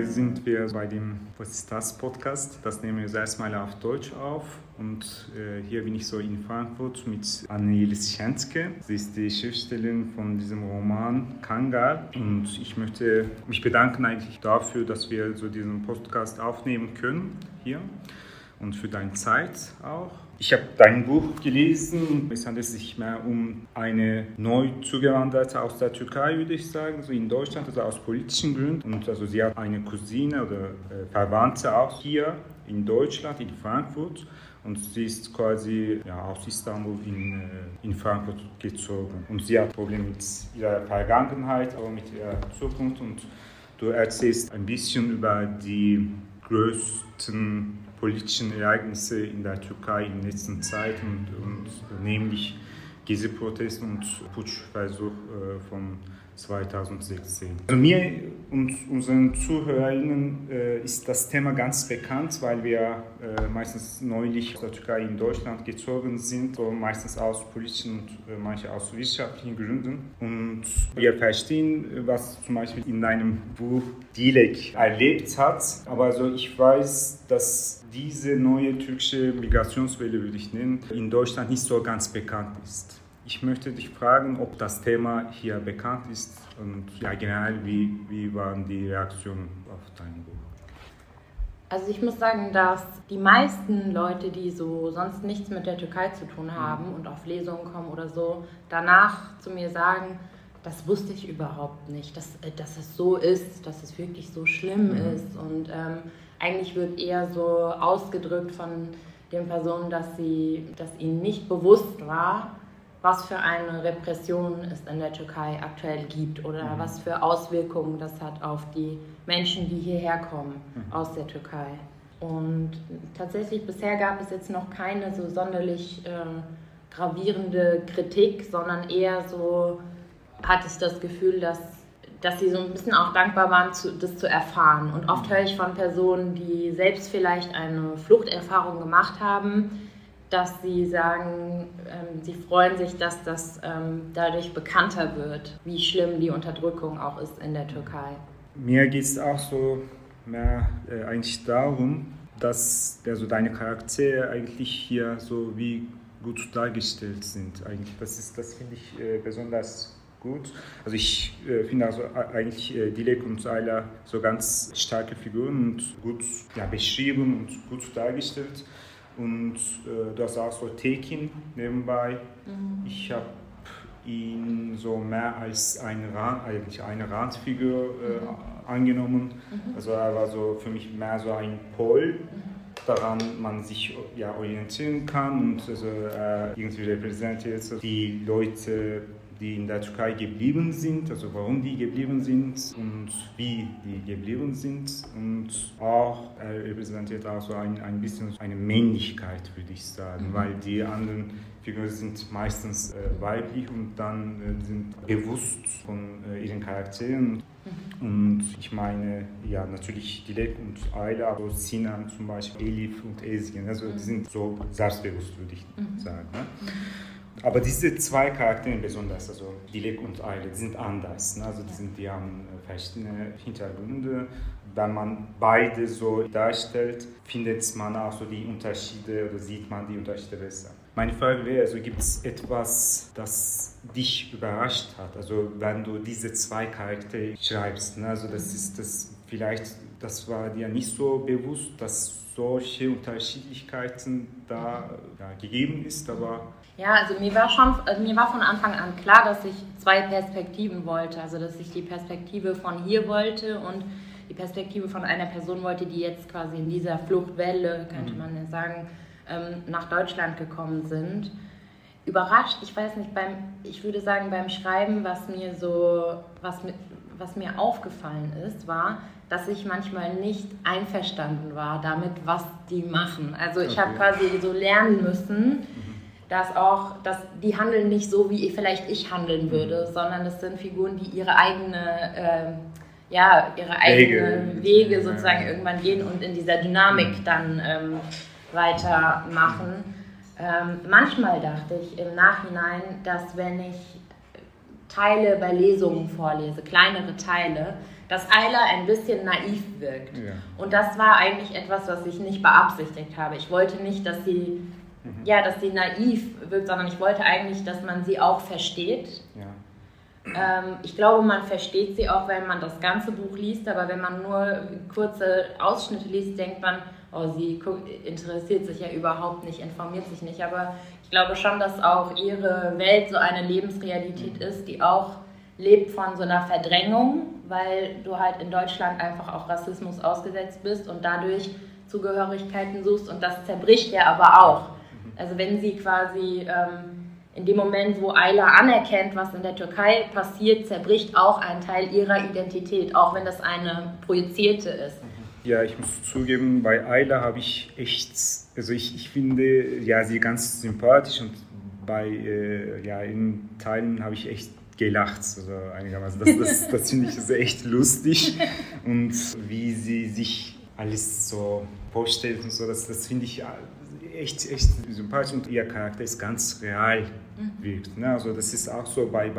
sind wir bei dem Was ist das Podcast. Das nehmen wir erstmal auf Deutsch auf. Und hier bin ich so in Frankfurt mit Anne-Jelis Schänzke. Sie ist die Schriftstellerin von diesem Roman Kangal. Und ich möchte mich bedanken eigentlich dafür, dass wir so diesen Podcast aufnehmen können hier. Und für deine Zeit auch. Ich habe dein Buch gelesen. Es handelt sich mehr um eine neu zugewanderte aus der Türkei, würde ich sagen, so in Deutschland, also aus politischen Gründen. Und also sie hat eine Cousine oder Verwandte auch hier in Deutschland, in Frankfurt. Und sie ist quasi aus Istanbul in Frankfurt gezogen. Und sie hat Probleme mit ihrer Vergangenheit, aber mit ihrer Zukunft. Und du erzählst ein bisschen über die größten politischen Ereignisse in der Türkei in der letzten Zeit und nämlich Gezi-Protest und Putschversuch von 2016. Also mir und unseren ZuhörerInnen ist das Thema ganz bekannt, weil wir meistens neulich aus der Türkei in Deutschland gezogen sind, so meistens aus politischen und manche aus wirtschaftlichen Gründen. Und wir verstehen, was zum Beispiel in deinem Buch Dilek erlebt hat. Aber also ich weiß, dass diese neue türkische Migrationswelle, würde ich nennen, in Deutschland nicht so ganz bekannt ist. Ich möchte dich fragen, ob das Thema hier bekannt ist und generell, wie waren die Reaktionen auf dein Buch? Also ich muss sagen, dass die meisten Leute, die so sonst nichts mit der Türkei zu tun haben und auf Lesungen kommen oder so, danach zu mir sagen, das wusste ich überhaupt nicht, dass es so ist, dass es wirklich so schlimm ist. Und eigentlich wird eher so ausgedrückt von den Personen, dass ihnen nicht bewusst war, was für eine Repression es in der Türkei aktuell gibt oder was für Auswirkungen das hat auf die Menschen, die hierher kommen aus der Türkei. Und tatsächlich bisher gab es jetzt noch keine so sonderlich gravierende Kritik, sondern eher so hatte ich das Gefühl, dass sie so ein bisschen auch dankbar waren, das zu erfahren. Und oft höre ich von Personen, die selbst vielleicht eine Fluchterfahrung gemacht haben, dass sie sagen, sie freuen sich, dass das dadurch bekannter wird, wie schlimm die Unterdrückung auch ist in der Türkei. Mir geht es auch so mehr eigentlich darum, dass also deine Charaktere eigentlich hier so wie gut dargestellt sind. Eigentlich. Das finde ich besonders gut. Also ich finde also eigentlich Dilek und Ayla so ganz starke Figuren und gut beschrieben und gut dargestellt. Und du hast auch so Tekin nebenbei. Ich habe ihn so mehr als eine Randfigur angenommen. Also er war so für mich mehr so ein Pol, daran man sich orientieren kann und also, irgendwie repräsentiert die Leute, die in der Türkei geblieben sind, also warum die geblieben sind und wie die geblieben sind. Und auch er repräsentiert auch so ein bisschen eine Männlichkeit, würde ich sagen, weil die anderen Figuren sind meistens weiblich und dann sind bewusst von ihren Charakteren. Und ich meine, natürlich Dilek und Ayla, aber Sinan zum Beispiel, Elif und Ezgin, also die sind so selbstbewusst, würde ich sagen. Ne? Aber diese zwei Charaktere besonders, also Dilek und Ayla, die sind anders. Ne? Also die haben verschiedene Hintergründe. Wenn man beide so darstellt, findet man auch so die Unterschiede oder sieht man die Unterschiede besser. Meine Frage wäre, also gibt es etwas, das dich überrascht hat? Also wenn du diese zwei Charaktere schreibst, ne? Also das war dir nicht so bewusst, dass solche Unterschiedlichkeiten da gegeben ist, aber... Ja, also mir war von Anfang an klar, dass ich zwei Perspektiven wollte. Also dass ich die Perspektive von hier wollte und die Perspektive von einer Person wollte, die jetzt quasi in dieser Fluchtwelle, könnte man ja sagen, nach Deutschland gekommen sind. Überrascht, ich weiß nicht, ich würde sagen beim Schreiben, was mir aufgefallen ist, war, dass ich manchmal nicht einverstanden war damit, was die machen. Also ich habe quasi so lernen müssen, dass die handeln nicht so, wie vielleicht ich handeln würde, sondern das sind Figuren, die ihre eigenen Wege sozusagen irgendwann gehen und in dieser Dynamik dann weitermachen. Manchmal dachte ich im Nachhinein, dass wenn ich Teile bei Lesungen vorlese, kleinere Teile, dass Ayla ein bisschen naiv wirkt. Ja. Und das war eigentlich etwas, was ich nicht beabsichtigt habe. Ich wollte nicht, dass sie, dass sie naiv wirkt, sondern ich wollte eigentlich, dass man sie auch versteht. Ja. Ich glaube, man versteht sie auch, wenn man das ganze Buch liest, aber wenn man nur kurze Ausschnitte liest, denkt man, oh, sie interessiert sich ja überhaupt nicht, informiert sich nicht. Aber ich glaube schon, dass auch ihre Welt so eine Lebensrealität ist, die auch lebt von so einer Verdrängung, weil du halt in Deutschland einfach auch Rassismus ausgesetzt bist und dadurch Zugehörigkeiten suchst und das zerbricht ja aber auch. Also wenn sie quasi in dem Moment, wo Ayla anerkennt, was in der Türkei passiert, zerbricht auch ein Teil ihrer Identität, auch wenn das eine projizierte ist. Ja, ich muss zugeben, bei Ayla habe ich echt, also ich finde ja sie ganz sympathisch und bei in Teilen habe ich echt gelacht, also einigermaßen. Das finde ich echt lustig und wie sie sich alles so vorstellt und so, das finde ich echt sympathisch und ihr Charakter ist ganz real wirkt. Ne? Also das ist auch so bei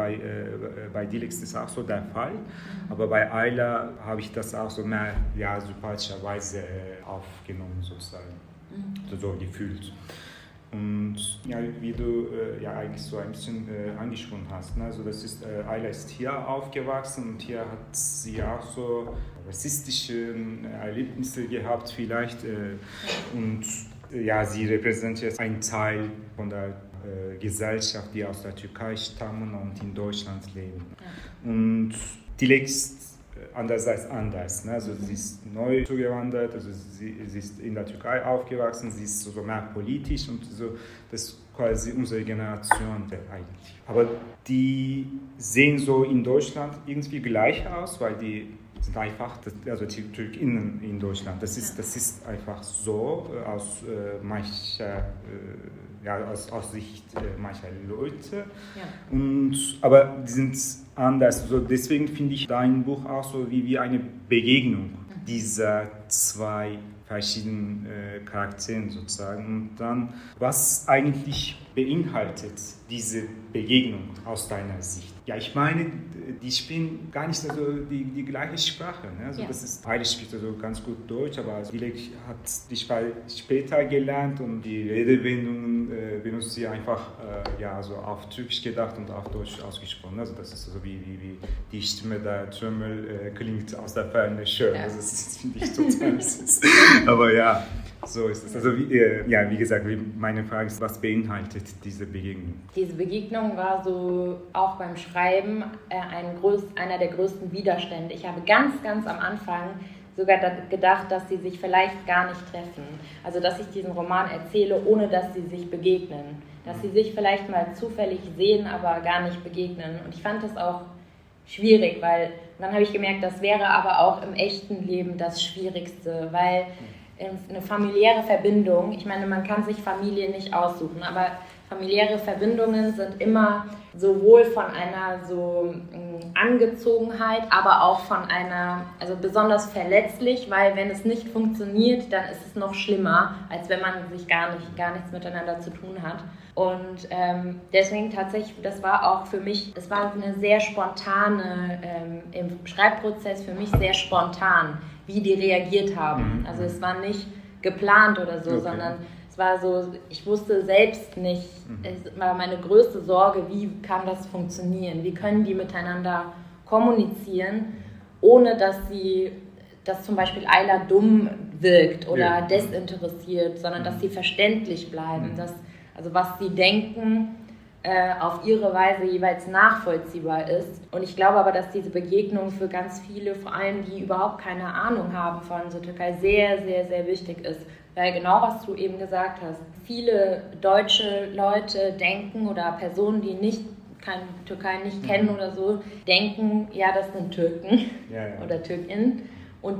Dilek ist auch so der Fall, aber bei Ayla habe ich das auch so mehr sympathischerweise aufgenommen sozusagen, so gefühlt. Und ja, wie du eigentlich so ein bisschen angesprochen hast, ne? Also das ist, Ayla ist hier aufgewachsen und hier hat sie auch so rassistische Erlebnisse gehabt vielleicht und ja, sie repräsentiert einen Teil von der Gesellschaft, die aus der Türkei stammen und in Deutschland leben. Ja. Und Dilek ist andererseits anders. Ne? Also sie ist neu zugewandert, also sie ist in der Türkei aufgewachsen, sie ist so mehr politisch und so, das ist quasi unsere Generation eigentlich. Aber die sehen so in Deutschland irgendwie gleich aus, weil die sind einfach, also die TürkInnen in Deutschland, das ist einfach so aus aus Sicht mancher Leute. Ja. Aber die sind anders. Also deswegen finde ich dein Buch auch so wie eine Begegnung dieser zwei verschiedenen Charakteren sozusagen. Und dann, was eigentlich beinhaltet diese Begegnung aus deiner Sicht? Ja, ich meine, die sprechen gar nicht also die gleiche Sprache. Ne? Also das ist, Ayla spricht also ganz gut Deutsch, aber Dilek hat die Sprache später gelernt und die Redewendungen benutzt sie einfach also auf Türkisch gedacht und auf Deutsch ausgesprochen. Also das ist so wie die Stimme der Trümmel klingt aus der Ferne schön. Ja. Also das finde ich total süß. Aber ja, so ist es. Also wie gesagt, meine Frage ist, was beinhaltet diese Begegnung? Diese Begegnung war so auch beim Schreiben einer der größten Widerstände. Ich habe ganz am Anfang sogar gedacht, dass sie sich vielleicht gar nicht treffen. Also dass ich diesen Roman erzähle, ohne dass sie sich begegnen. Dass sie sich vielleicht mal zufällig sehen, aber gar nicht begegnen. Und ich fand das auch schwierig, weil dann habe ich gemerkt, das wäre aber auch im echten Leben das Schwierigste, weil eine familiäre Verbindung, ich meine, man kann sich Familie nicht aussuchen, aber familiäre Verbindungen sind immer sowohl von einer so Angezogenheit, aber auch von einer, also besonders verletzlich, weil wenn es nicht funktioniert, dann ist es noch schlimmer, als wenn man sich gar nichts miteinander zu tun hat. Und deswegen tatsächlich, das war auch für mich, es war eine sehr spontane, im Schreibprozess für mich sehr spontan, wie die reagiert haben. Also es war nicht geplant oder so, sondern es war so, ich wusste selbst nicht, es war meine größte Sorge, wie kann das funktionieren, wie können die miteinander kommunizieren, ohne dass zum Beispiel Ayla dumm wirkt oder desinteressiert, sondern dass sie verständlich bleiben, also was sie denken, auf ihre Weise jeweils nachvollziehbar ist. Und ich glaube aber, dass diese Begegnung für ganz viele, vor allem die überhaupt keine Ahnung haben von so Türkei, sehr, sehr, sehr wichtig ist. Weil genau, was du eben gesagt hast, viele deutsche Leute denken oder Personen, die keine Türkei nicht kennen oder so, denken, ja, das sind Türken oder Türkinnen. Und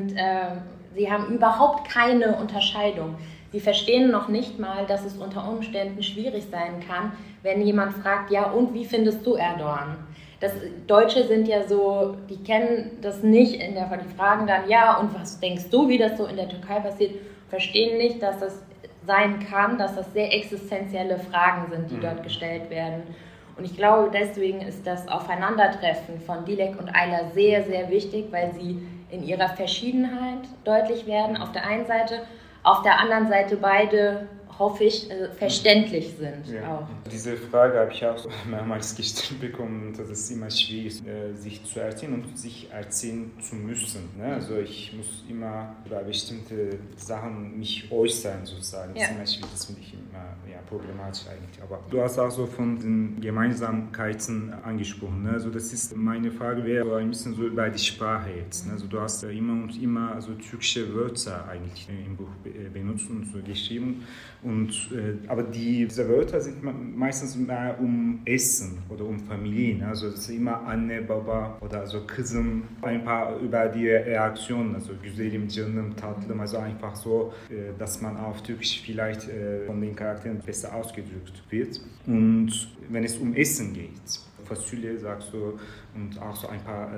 sie haben überhaupt keine Unterscheidung. Sie verstehen noch nicht mal, dass es unter Umständen schwierig sein kann, wenn jemand fragt, ja, und wie findest du Erdogan? Deutsche sind ja so, die kennen das nicht, die fragen dann, ja, und was denkst du, wie das so in der Türkei passiert? Verstehen nicht, dass das sein kann, dass das sehr existenzielle Fragen sind, die dort gestellt werden. Und ich glaube, deswegen ist das Aufeinandertreffen von Dilek und Ayla sehr, sehr wichtig, weil sie in ihrer Verschiedenheit deutlich werden, auf der einen Seite, auf der anderen Seite beide, hoffe ich, verständlich sind. Ja. Auch. Diese Frage habe ich auch mehrmals gestellt bekommen, dass es immer schwierig ist, sich zu erziehen und sich erziehen zu müssen. Ne? Also ich muss immer über bestimmte Sachen mich äußern, sozusagen. Das ist immer schwierig, das finde ich immer problematisch eigentlich. Aber du hast auch so von den Gemeinsamkeiten angesprochen. Ne? Also das ist, meine Frage wäre so ein bisschen so über die Sprache jetzt. Ne? Also du hast immer und immer also türkische Wörter eigentlich im Buch benutzt und so geschrieben. Aber diese Wörter sind meistens mehr um Essen oder um Familien. Also das ist immer Anne, Baba oder also Kızım. Ein paar über die Reaktionen, also Güzelim, Canım, Tatlım, also einfach so, dass man auf Türkisch vielleicht von den Charakteren besser ausgedrückt wird. Und wenn es um Essen geht, Fasulye sagst du und auch so ein paar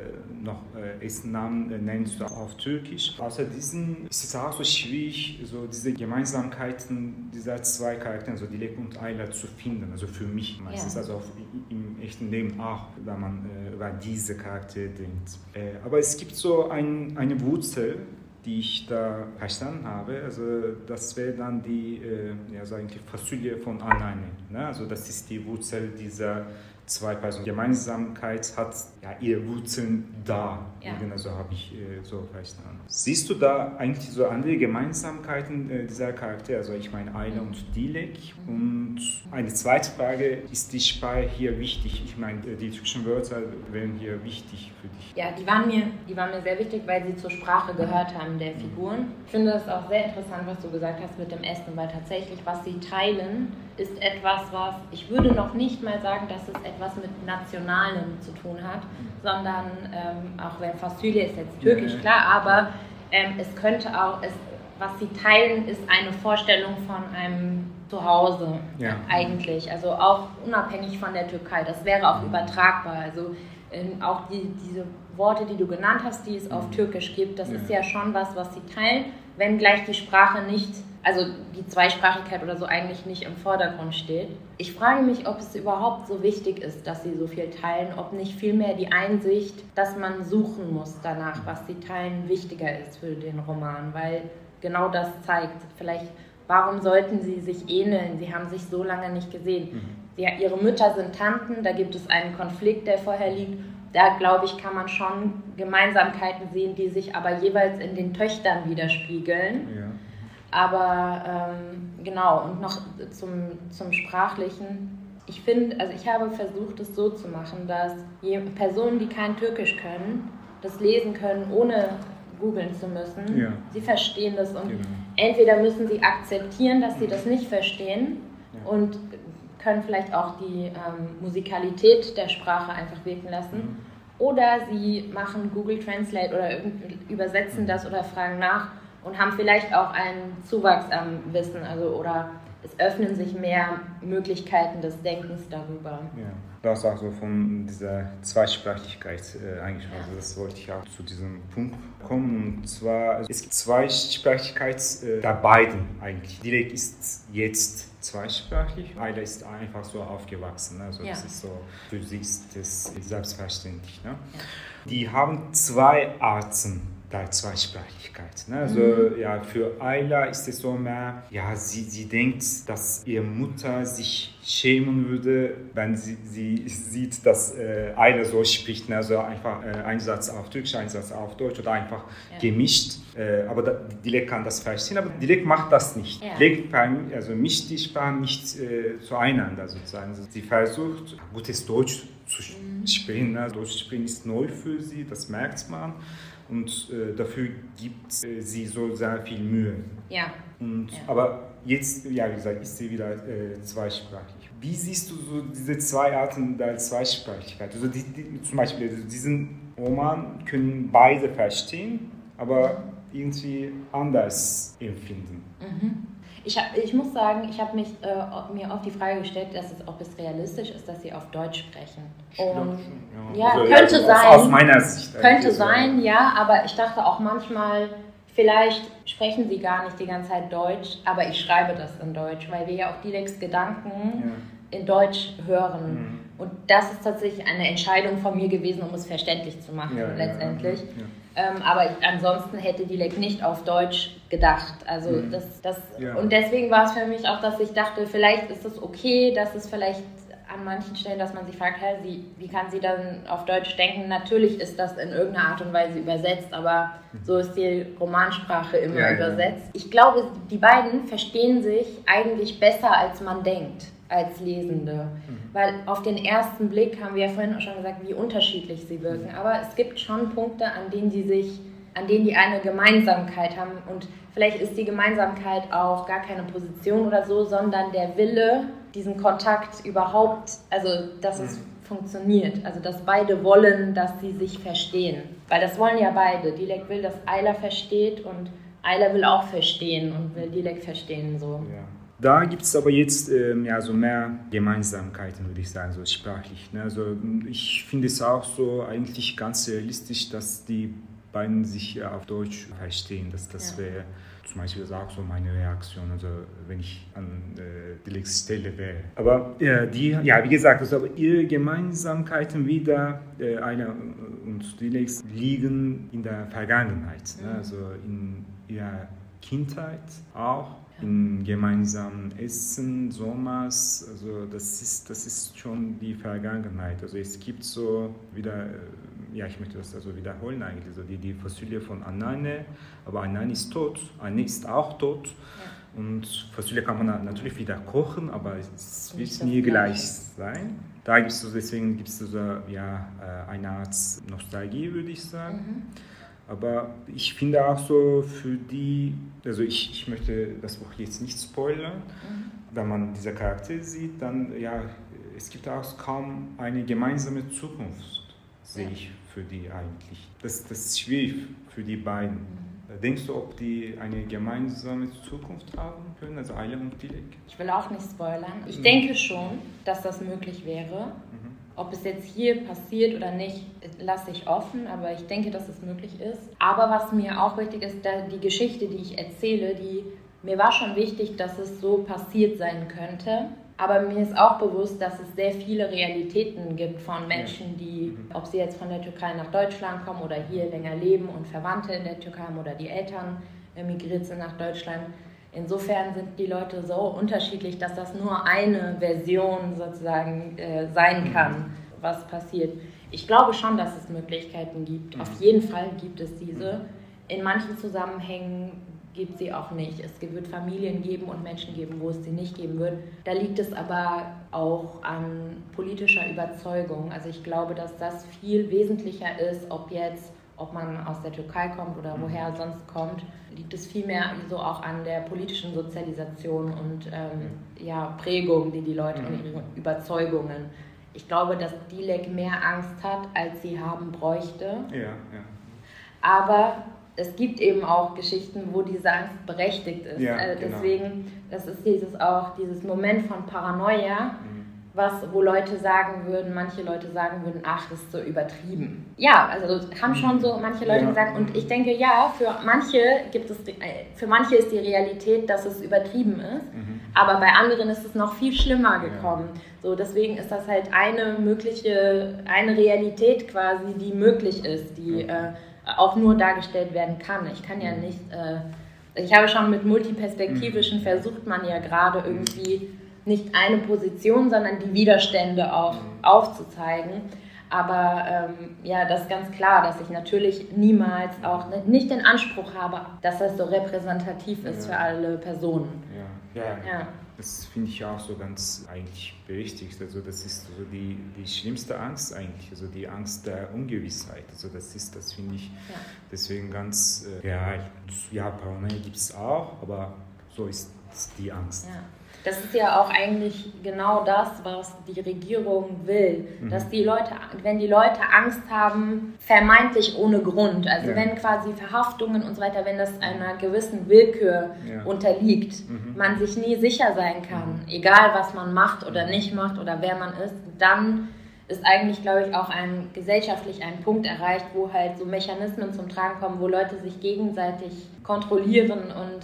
Essennamen nennst du auf Türkisch. Außer diesen ist es auch so schwierig, so diese Gemeinsamkeiten dieser zwei Charaktere, so Dilek und Ayla, zu finden. Also für mich meistens, also auch im echten Leben auch, wenn man über diese Charaktere denkt. Aber es gibt so eine Wurzel, die ich da verstanden habe, also das wäre dann die Fasulye von alleine. Ne? Also das ist die Wurzel dieser zwei Personen. Gemeinsamkeit hat ihre Wurzeln da. Also habe ich so verstanden. Siehst du da eigentlich so andere Gemeinsamkeiten dieser Charaktere? Also ich meine Ayla und Dilek. Und eine zweite Frage, ist die Sprache hier wichtig? Ich meine, die türkischen Wörter wären hier wichtig für dich. Ja, die waren mir sehr wichtig, weil sie zur Sprache gehört haben der Figuren. Ich finde es auch sehr interessant, was du gesagt hast mit dem Essen, weil tatsächlich, was sie teilen, ist etwas, was, ich würde noch nicht mal sagen, dass es etwas mit Nationalem zu tun hat, sondern auch wenn Fasulye ist jetzt türkisch, klar, aber es könnte auch, was sie teilen, ist eine Vorstellung von einem Zuhause eigentlich, also auch unabhängig von der Türkei, das wäre auch übertragbar, also auch diese Worte, die du genannt hast, die es auf Türkisch gibt, das ist ja schon was sie teilen, wenngleich die Sprache nicht, also die Zweisprachigkeit oder so eigentlich nicht im Vordergrund steht. Ich frage mich, ob es überhaupt so wichtig ist, dass sie so viel teilen, ob nicht vielmehr die Einsicht, dass man suchen muss danach, was sie teilen, wichtiger ist für den Roman, weil genau das zeigt, vielleicht, warum sollten sie sich ähneln, sie haben sich so lange nicht gesehen. Ihre Mütter sind Tanten, da gibt es einen Konflikt, der vorher liegt. Da, glaube ich, kann man schon Gemeinsamkeiten sehen, die sich aber jeweils in den Töchtern widerspiegeln. Ja. Aber genau, und noch zum Sprachlichen. Ich finde, also ich habe versucht, es so zu machen, dass Personen, die kein Türkisch können, das lesen können, ohne googeln zu müssen. Ja. Sie verstehen das und entweder müssen sie akzeptieren, dass sie das nicht verstehen und können vielleicht auch die Musikalität der Sprache einfach wirken lassen. Oder sie machen Google Translate oder übersetzen das oder fragen nach und haben vielleicht auch einen Zuwachs am Wissen, also oder es öffnen sich mehr Möglichkeiten des Denkens darüber. Ja. Du hast auch so von dieser Zweisprachigkeit angesprochen, also das wollte ich auch zu diesem Punkt kommen. Und zwar, also es gibt Zweisprachigkeit der beiden eigentlich. Dilek ist jetzt zweisprachig, Ayla ist einfach so aufgewachsen, also das ist so, für sie ist das selbstverständlich. Ne? Ja. Die haben zwei Arten der Zweisprachigkeit. Ne? Also für Ayla ist es so mehr, sie denkt, dass ihre Mutter sich schämen würde, wenn sie sieht, dass Ayla so spricht, ne? Also einfach ein Satz auf Türkisch, ein Satz auf Deutsch oder einfach gemischt. Aber Dilek kann das verstehen, aber Dilek macht das nicht. Ja. Dilek mischt die Sprachen nicht zueinander sozusagen. Also sie versucht, gutes Deutsch zu sprechen. Ne? Deutsch sprechen ist neu für sie, das merkt man. Und dafür gibt sie so sehr viel Mühe. Ja. Aber jetzt, wie gesagt, ist sie wieder zweisprachig. Wie siehst du so diese zwei Arten der Zweisprachigkeit? Also zum Beispiel diesen Roman können beide verstehen, aber irgendwie anders empfinden. Ich muss sagen, ich habe mir oft die Frage gestellt, ob es realistisch ist, dass sie auf Deutsch sprechen. Und also, könnte sein. Aus meiner Sicht. Könnte sein, ja, aber ich dachte auch manchmal, vielleicht sprechen sie gar nicht die ganze Zeit Deutsch, aber ich schreibe das in Deutsch, weil wir ja auch Dileks Gedanken in Deutsch hören. Und das ist tatsächlich eine Entscheidung von mir gewesen, um es verständlich zu machen, letztendlich. Aber ansonsten hätte Dilek nicht auf Deutsch gedacht. Also und deswegen war es für mich auch, dass ich dachte, vielleicht ist es okay, dass es vielleicht an manchen Stellen, dass man sich fragt, wie kann sie dann auf Deutsch denken? Natürlich ist das in irgendeiner Art und Weise übersetzt, aber so ist die Romansprache immer übersetzt. Ich glaube, die beiden verstehen sich eigentlich besser, als man denkt, als Lesende. Weil auf den ersten Blick, haben wir ja vorhin auch schon gesagt, wie unterschiedlich sie wirken. Aber es gibt schon Punkte, an denen die eine Gemeinsamkeit haben. Und vielleicht ist die Gemeinsamkeit auch gar keine Position oder so, sondern der Wille, diesen Kontakt überhaupt, also dass es funktioniert. Also dass beide wollen, dass sie sich verstehen. Weil das wollen ja beide. Dilek will, dass Ayla versteht und Ayla will auch verstehen und will Dilek verstehen. So. Ja. Da gibt es aber jetzt so mehr Gemeinsamkeiten, würde ich sagen, so sprachlich. Ne? Also ich finde es auch so eigentlich ganz realistisch, dass die beiden sich auf Deutsch verstehen. Das wäre zum Beispiel auch so meine Reaktion, also wenn ich an Dileks Stelle wäre. Aber wie gesagt, also aber ihre Gemeinsamkeiten wieder, Ayla und Dileks, liegen in der Vergangenheit. Ne? Also in ihrer Kindheit auch. In gemeinsamen Essen, Sommers, also das ist schon die Vergangenheit. Also es gibt so wieder, ich möchte das also wiederholen eigentlich, so die Fossilie von Anneane, aber Anneane ist tot, Anne ist auch tot. Ja. Und Fossilie kann man natürlich wieder kochen, aber es wird nie gleich sein. Da gibt es so, deswegen gibt es so eine Art Nostalgie, würde ich sagen. Aber ich finde auch so für die, also ich möchte das Buch jetzt nicht spoilern, wenn man diese Charaktere sieht, dann es gibt auch kaum eine gemeinsame Zukunft, sehe ich für die eigentlich. Das ist schwierig für die beiden. Denkst du, ob die eine gemeinsame Zukunft haben können, also Ayla und Dilek? Ich will auch nicht spoilern. Ich denke schon, dass das möglich wäre. Ob es jetzt hier passiert oder nicht, lasse ich offen, aber ich denke, dass es möglich ist. Aber was mir auch wichtig ist, die Geschichte, die ich erzähle, mir war schon wichtig, dass es so passiert sein könnte. Aber mir ist auch bewusst, dass es sehr viele Realitäten gibt von Menschen, die, ob sie jetzt von der Türkei nach Deutschland kommen oder hier länger leben und Verwandte in der Türkei haben oder die Eltern emigriert sind nach Deutschland. Insofern sind die Leute so unterschiedlich, dass das nur eine Version sozusagen sein kann, was passiert. Ich glaube schon, dass es Möglichkeiten gibt. Auf jeden Fall gibt es diese. In manchen Zusammenhängen gibt sie auch nicht. Es wird Familien geben und Menschen geben, wo es sie nicht geben wird. Da liegt es aber auch an politischer Überzeugung. Also ich glaube, dass das viel wesentlicher ist, ob man aus der Türkei kommt oder woher sonst kommt, liegt es vielmehr so auch an der politischen Sozialisation und Prägung, die Leute und ihre Überzeugungen. Ich glaube, dass Dilek mehr Angst hat, als sie haben bräuchte. Ja. Aber es gibt eben auch Geschichten, wo diese Angst berechtigt ist. Ja, deswegen, das ist dieses Moment von Paranoia, wo manche Leute sagen würden, ach, das ist so übertrieben. Ja, also haben schon so manche Leute gesagt, und ich denke, für manche ist die Realität, dass es übertrieben ist, aber bei anderen ist es noch viel schlimmer gekommen. So, deswegen ist das halt eine Realität quasi, die möglich ist, die auch nur dargestellt werden kann. Ich kann ja nicht, ich habe schon mit multiperspektivischen versucht man ja gerade irgendwie nicht eine Position, sondern die Widerstände auch aufzuzeigen. Aber das ist ganz klar, dass ich natürlich niemals auch nicht den Anspruch habe, dass das so repräsentativ ist für alle Personen. Ja. Das finde ich auch so ganz eigentlich berechtigt. Also das ist so die schlimmste Angst eigentlich, also die Angst der Ungewissheit. Also das finde ich deswegen ganz real. Ja, Paranoia gibt es auch, aber so ist die Angst. Ja. Das ist ja auch eigentlich genau das, was die Regierung will. Dass wenn die Leute Angst haben, vermeintlich ohne Grund, also wenn quasi Verhaftungen und so weiter, wenn das einer gewissen Willkür unterliegt, man sich nie sicher sein kann, egal was man macht oder nicht macht oder wer man ist, dann ist eigentlich, glaube ich, auch gesellschaftlich ein Punkt erreicht, wo halt so Mechanismen zum Tragen kommen, wo Leute sich gegenseitig kontrollieren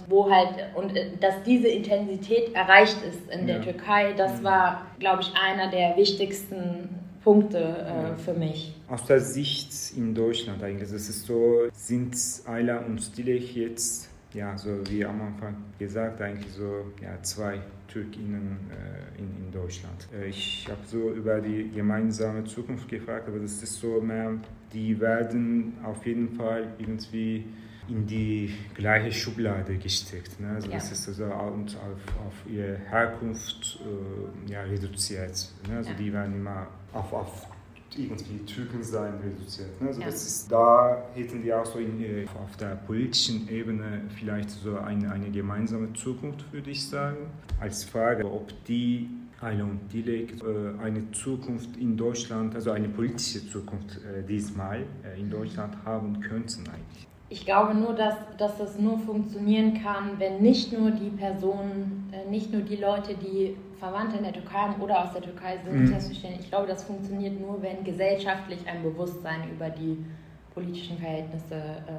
dass diese Intensität erreicht ist in der Türkei. Das war, glaube ich, einer der wichtigsten Punkte für mich. Aus der Sicht in Deutschland eigentlich, das ist so, sind Ayla und Dilek jetzt, ja, so wie am Anfang gesagt, eigentlich so, ja, zwei Türkinnen in Deutschland. Ich habe so über die gemeinsame Zukunft gefragt, aber das ist so mehr, die werden auf jeden Fall irgendwie in die gleiche Schublade gesteckt. Ne? Also das ist also auf ihre Herkunft reduziert. Ne? Also die werden immer auf irgendwie Türken sein reduziert. Ne? Also das ist, da hätten wir auch so auf der politischen Ebene vielleicht so eine gemeinsame Zukunft, würde ich sagen. Als Frage, ob die Ayla und Dilek eine Zukunft in Deutschland, also eine politische Zukunft diesmal in Deutschland haben könnten eigentlich. Ich glaube nur, dass das nur funktionieren kann, wenn nicht nur die Personen, nicht nur die Leute, die Verwandte in der Türkei haben oder aus der Türkei sind, selbstverständlich. Ich glaube, das funktioniert nur, wenn gesellschaftlich ein Bewusstsein über die politischen Verhältnisse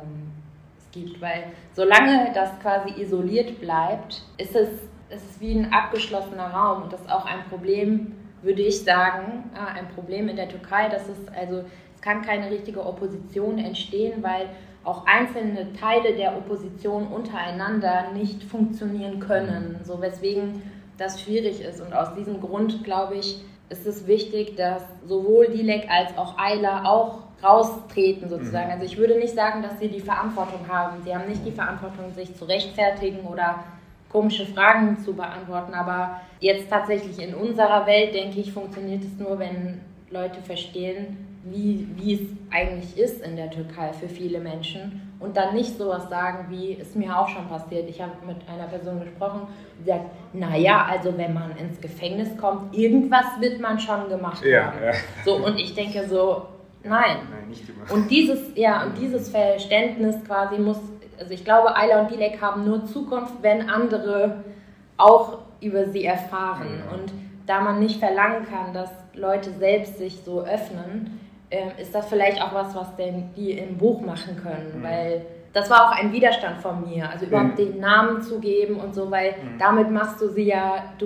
es gibt. Weil solange das quasi isoliert bleibt, ist es wie ein abgeschlossener Raum. Und das ist auch ein Problem, würde ich sagen, ein Problem in der Türkei. Es kann keine richtige Opposition entstehen, weil auch einzelne Teile der Opposition untereinander nicht funktionieren können, so weswegen das schwierig ist. Und aus diesem Grund, glaube ich, ist es wichtig, dass sowohl Dilek als auch Ayla auch raustreten sozusagen. Also ich würde nicht sagen, dass sie die Verantwortung haben. Sie haben nicht die Verantwortung, sich zu rechtfertigen oder komische Fragen zu beantworten. Aber jetzt tatsächlich in unserer Welt, denke ich, funktioniert es nur, wenn Leute verstehen, wie es eigentlich ist in der Türkei für viele Menschen und dann nicht sowas sagen, wie ist mir auch schon passiert. Ich habe mit einer Person gesprochen, die sagt, naja, also wenn man ins Gefängnis kommt, irgendwas wird man schon gemacht haben. Ja. So, und ich denke so, nein. Nein, nicht immer. Und dieses Verständnis quasi also ich glaube, Ayla und Dilek haben nur Zukunft, wenn andere auch über sie erfahren. Ja. Und da man nicht verlangen kann, dass Leute selbst sich so öffnen, ist das vielleicht auch was die im Buch machen können, weil das war auch ein Widerstand von mir, also überhaupt den Namen zu geben und so, weil damit machst du sie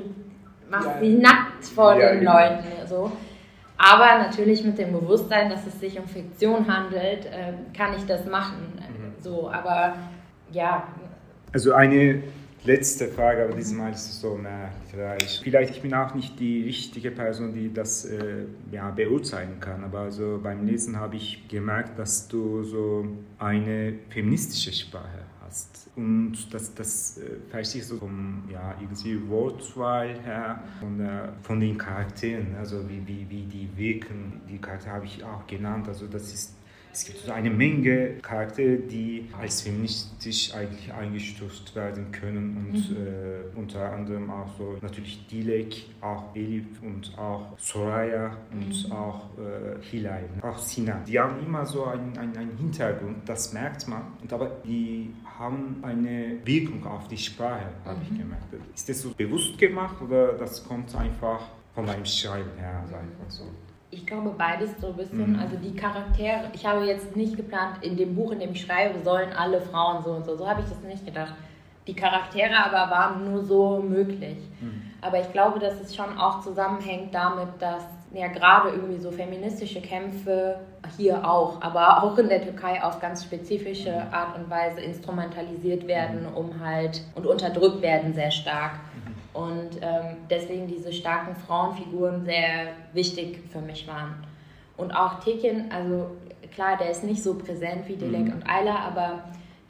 sie nackt vor den Leuten, so. Aber natürlich mit dem Bewusstsein, dass es sich um Fiktion handelt, kann ich das machen, so, aber ja. Also eine letzte Frage, aber diesmal ist es so literarisch. Vielleicht ich bin auch nicht die richtige Person, die das beurteilen kann, aber also beim Lesen habe ich gemerkt, dass du so eine feministische Sprache hast. Und das verstehe ich so irgendwie Wortwahl her, von den Charakteren, also wie die wirken. Die Charaktere habe ich auch genannt, also es gibt so eine Menge Charaktere, die als feministisch eigentlich eingestuft werden können und unter anderem auch so natürlich Dilek, auch Elif und auch Soraya und auch Hilal, auch Sina. Die haben immer so einen Hintergrund, das merkt man, aber die haben eine Wirkung auf die Sprache, habe ich gemerkt. Ist das so bewusst gemacht oder das kommt einfach von deinem Schreiben her, einfach so? Ich glaube beides so ein bisschen, also die Charaktere, ich habe jetzt nicht geplant, in dem Buch, in dem ich schreibe, sollen alle Frauen so und so habe ich das nicht gedacht. Die Charaktere aber waren nur so möglich. Aber ich glaube, dass es schon auch zusammenhängt damit, dass ja gerade irgendwie so feministische Kämpfe hier auch, aber auch in der Türkei auf ganz spezifische Art und Weise instrumentalisiert werden, und unterdrückt werden sehr stark. Und deswegen diese starken Frauenfiguren sehr wichtig für mich waren. Und auch Tekin, also klar, der ist nicht so präsent wie Dilek und Ayla, aber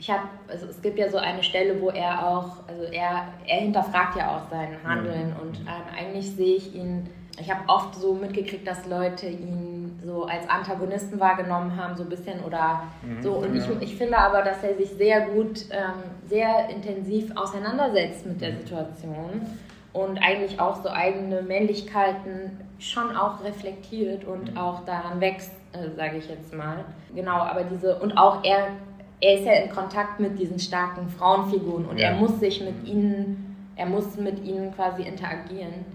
es gibt ja so eine Stelle, wo er auch, also er hinterfragt ja auch sein Handeln und eigentlich sehe ich ihn, ich habe oft so mitgekriegt, dass Leute ihn so als Antagonisten wahrgenommen haben, so ein bisschen oder so. Und ich finde aber, dass er sich sehr gut, sehr intensiv auseinandersetzt mit der Situation und eigentlich auch so eigene Männlichkeiten schon auch reflektiert und auch daran wächst, sage ich jetzt mal. Genau, aber und auch er ist ja in Kontakt mit diesen starken Frauenfiguren und er muss mit ihnen quasi interagieren.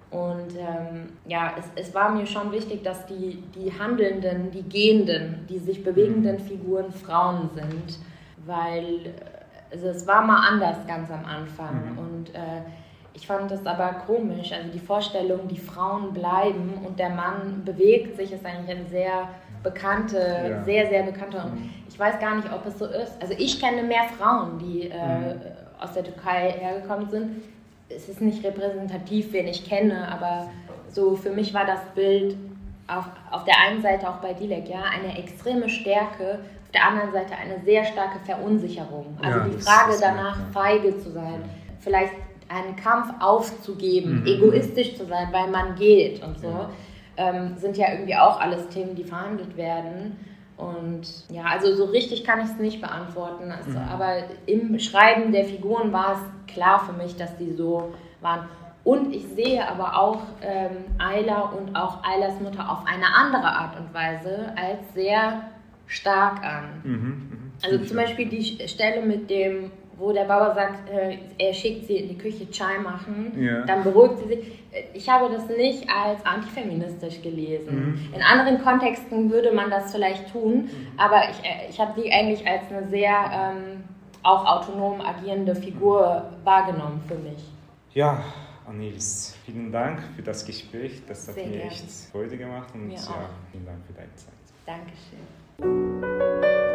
Und es war mir schon wichtig, dass die handelnden, die gehenden, die sich bewegenden Figuren Frauen sind, weil es war mal anders ganz am Anfang. Und ich fand das aber komisch, also die Vorstellung, die Frauen bleiben und der Mann bewegt sich, ist eigentlich eine sehr bekannte, sehr, sehr bekannte. Und ich weiß gar nicht, ob es so ist. Also ich kenne mehr Frauen, die aus der Türkei hergekommen sind. Es ist nicht repräsentativ, wen ich kenne, aber so für mich war das Bild auf der einen Seite auch bei Dilek, ja, eine extreme Stärke, auf der anderen Seite eine sehr starke Verunsicherung. Also die Frage danach, feige zu sein, vielleicht einen Kampf aufzugeben, egoistisch zu sein, weil man geht und so, sind ja irgendwie auch alles Themen, die verhandelt werden. Und ja, also so richtig kann ich es nicht beantworten. Also, aber im Schreiben der Figuren war es klar für mich, dass die so waren. Und ich sehe aber auch Ayla und auch Aylas Mutter auf eine andere Art und Weise als sehr stark an. Also zum Beispiel die Stelle mit dem, wo der Baba sagt, er schickt sie in die Küche Chai machen, dann beruhigt sie sich. Ich habe das nicht als antifeministisch gelesen. In anderen Kontexten würde man das vielleicht tun, aber ich habe sie eigentlich als eine sehr auch autonom agierende Figur wahrgenommen für mich. Ja, Annelies, vielen Dank für das Gespräch. Das hat Sehr mir gerne. echt Freude gemacht und Mir auch. vielen Dank für deine Zeit. Dankeschön.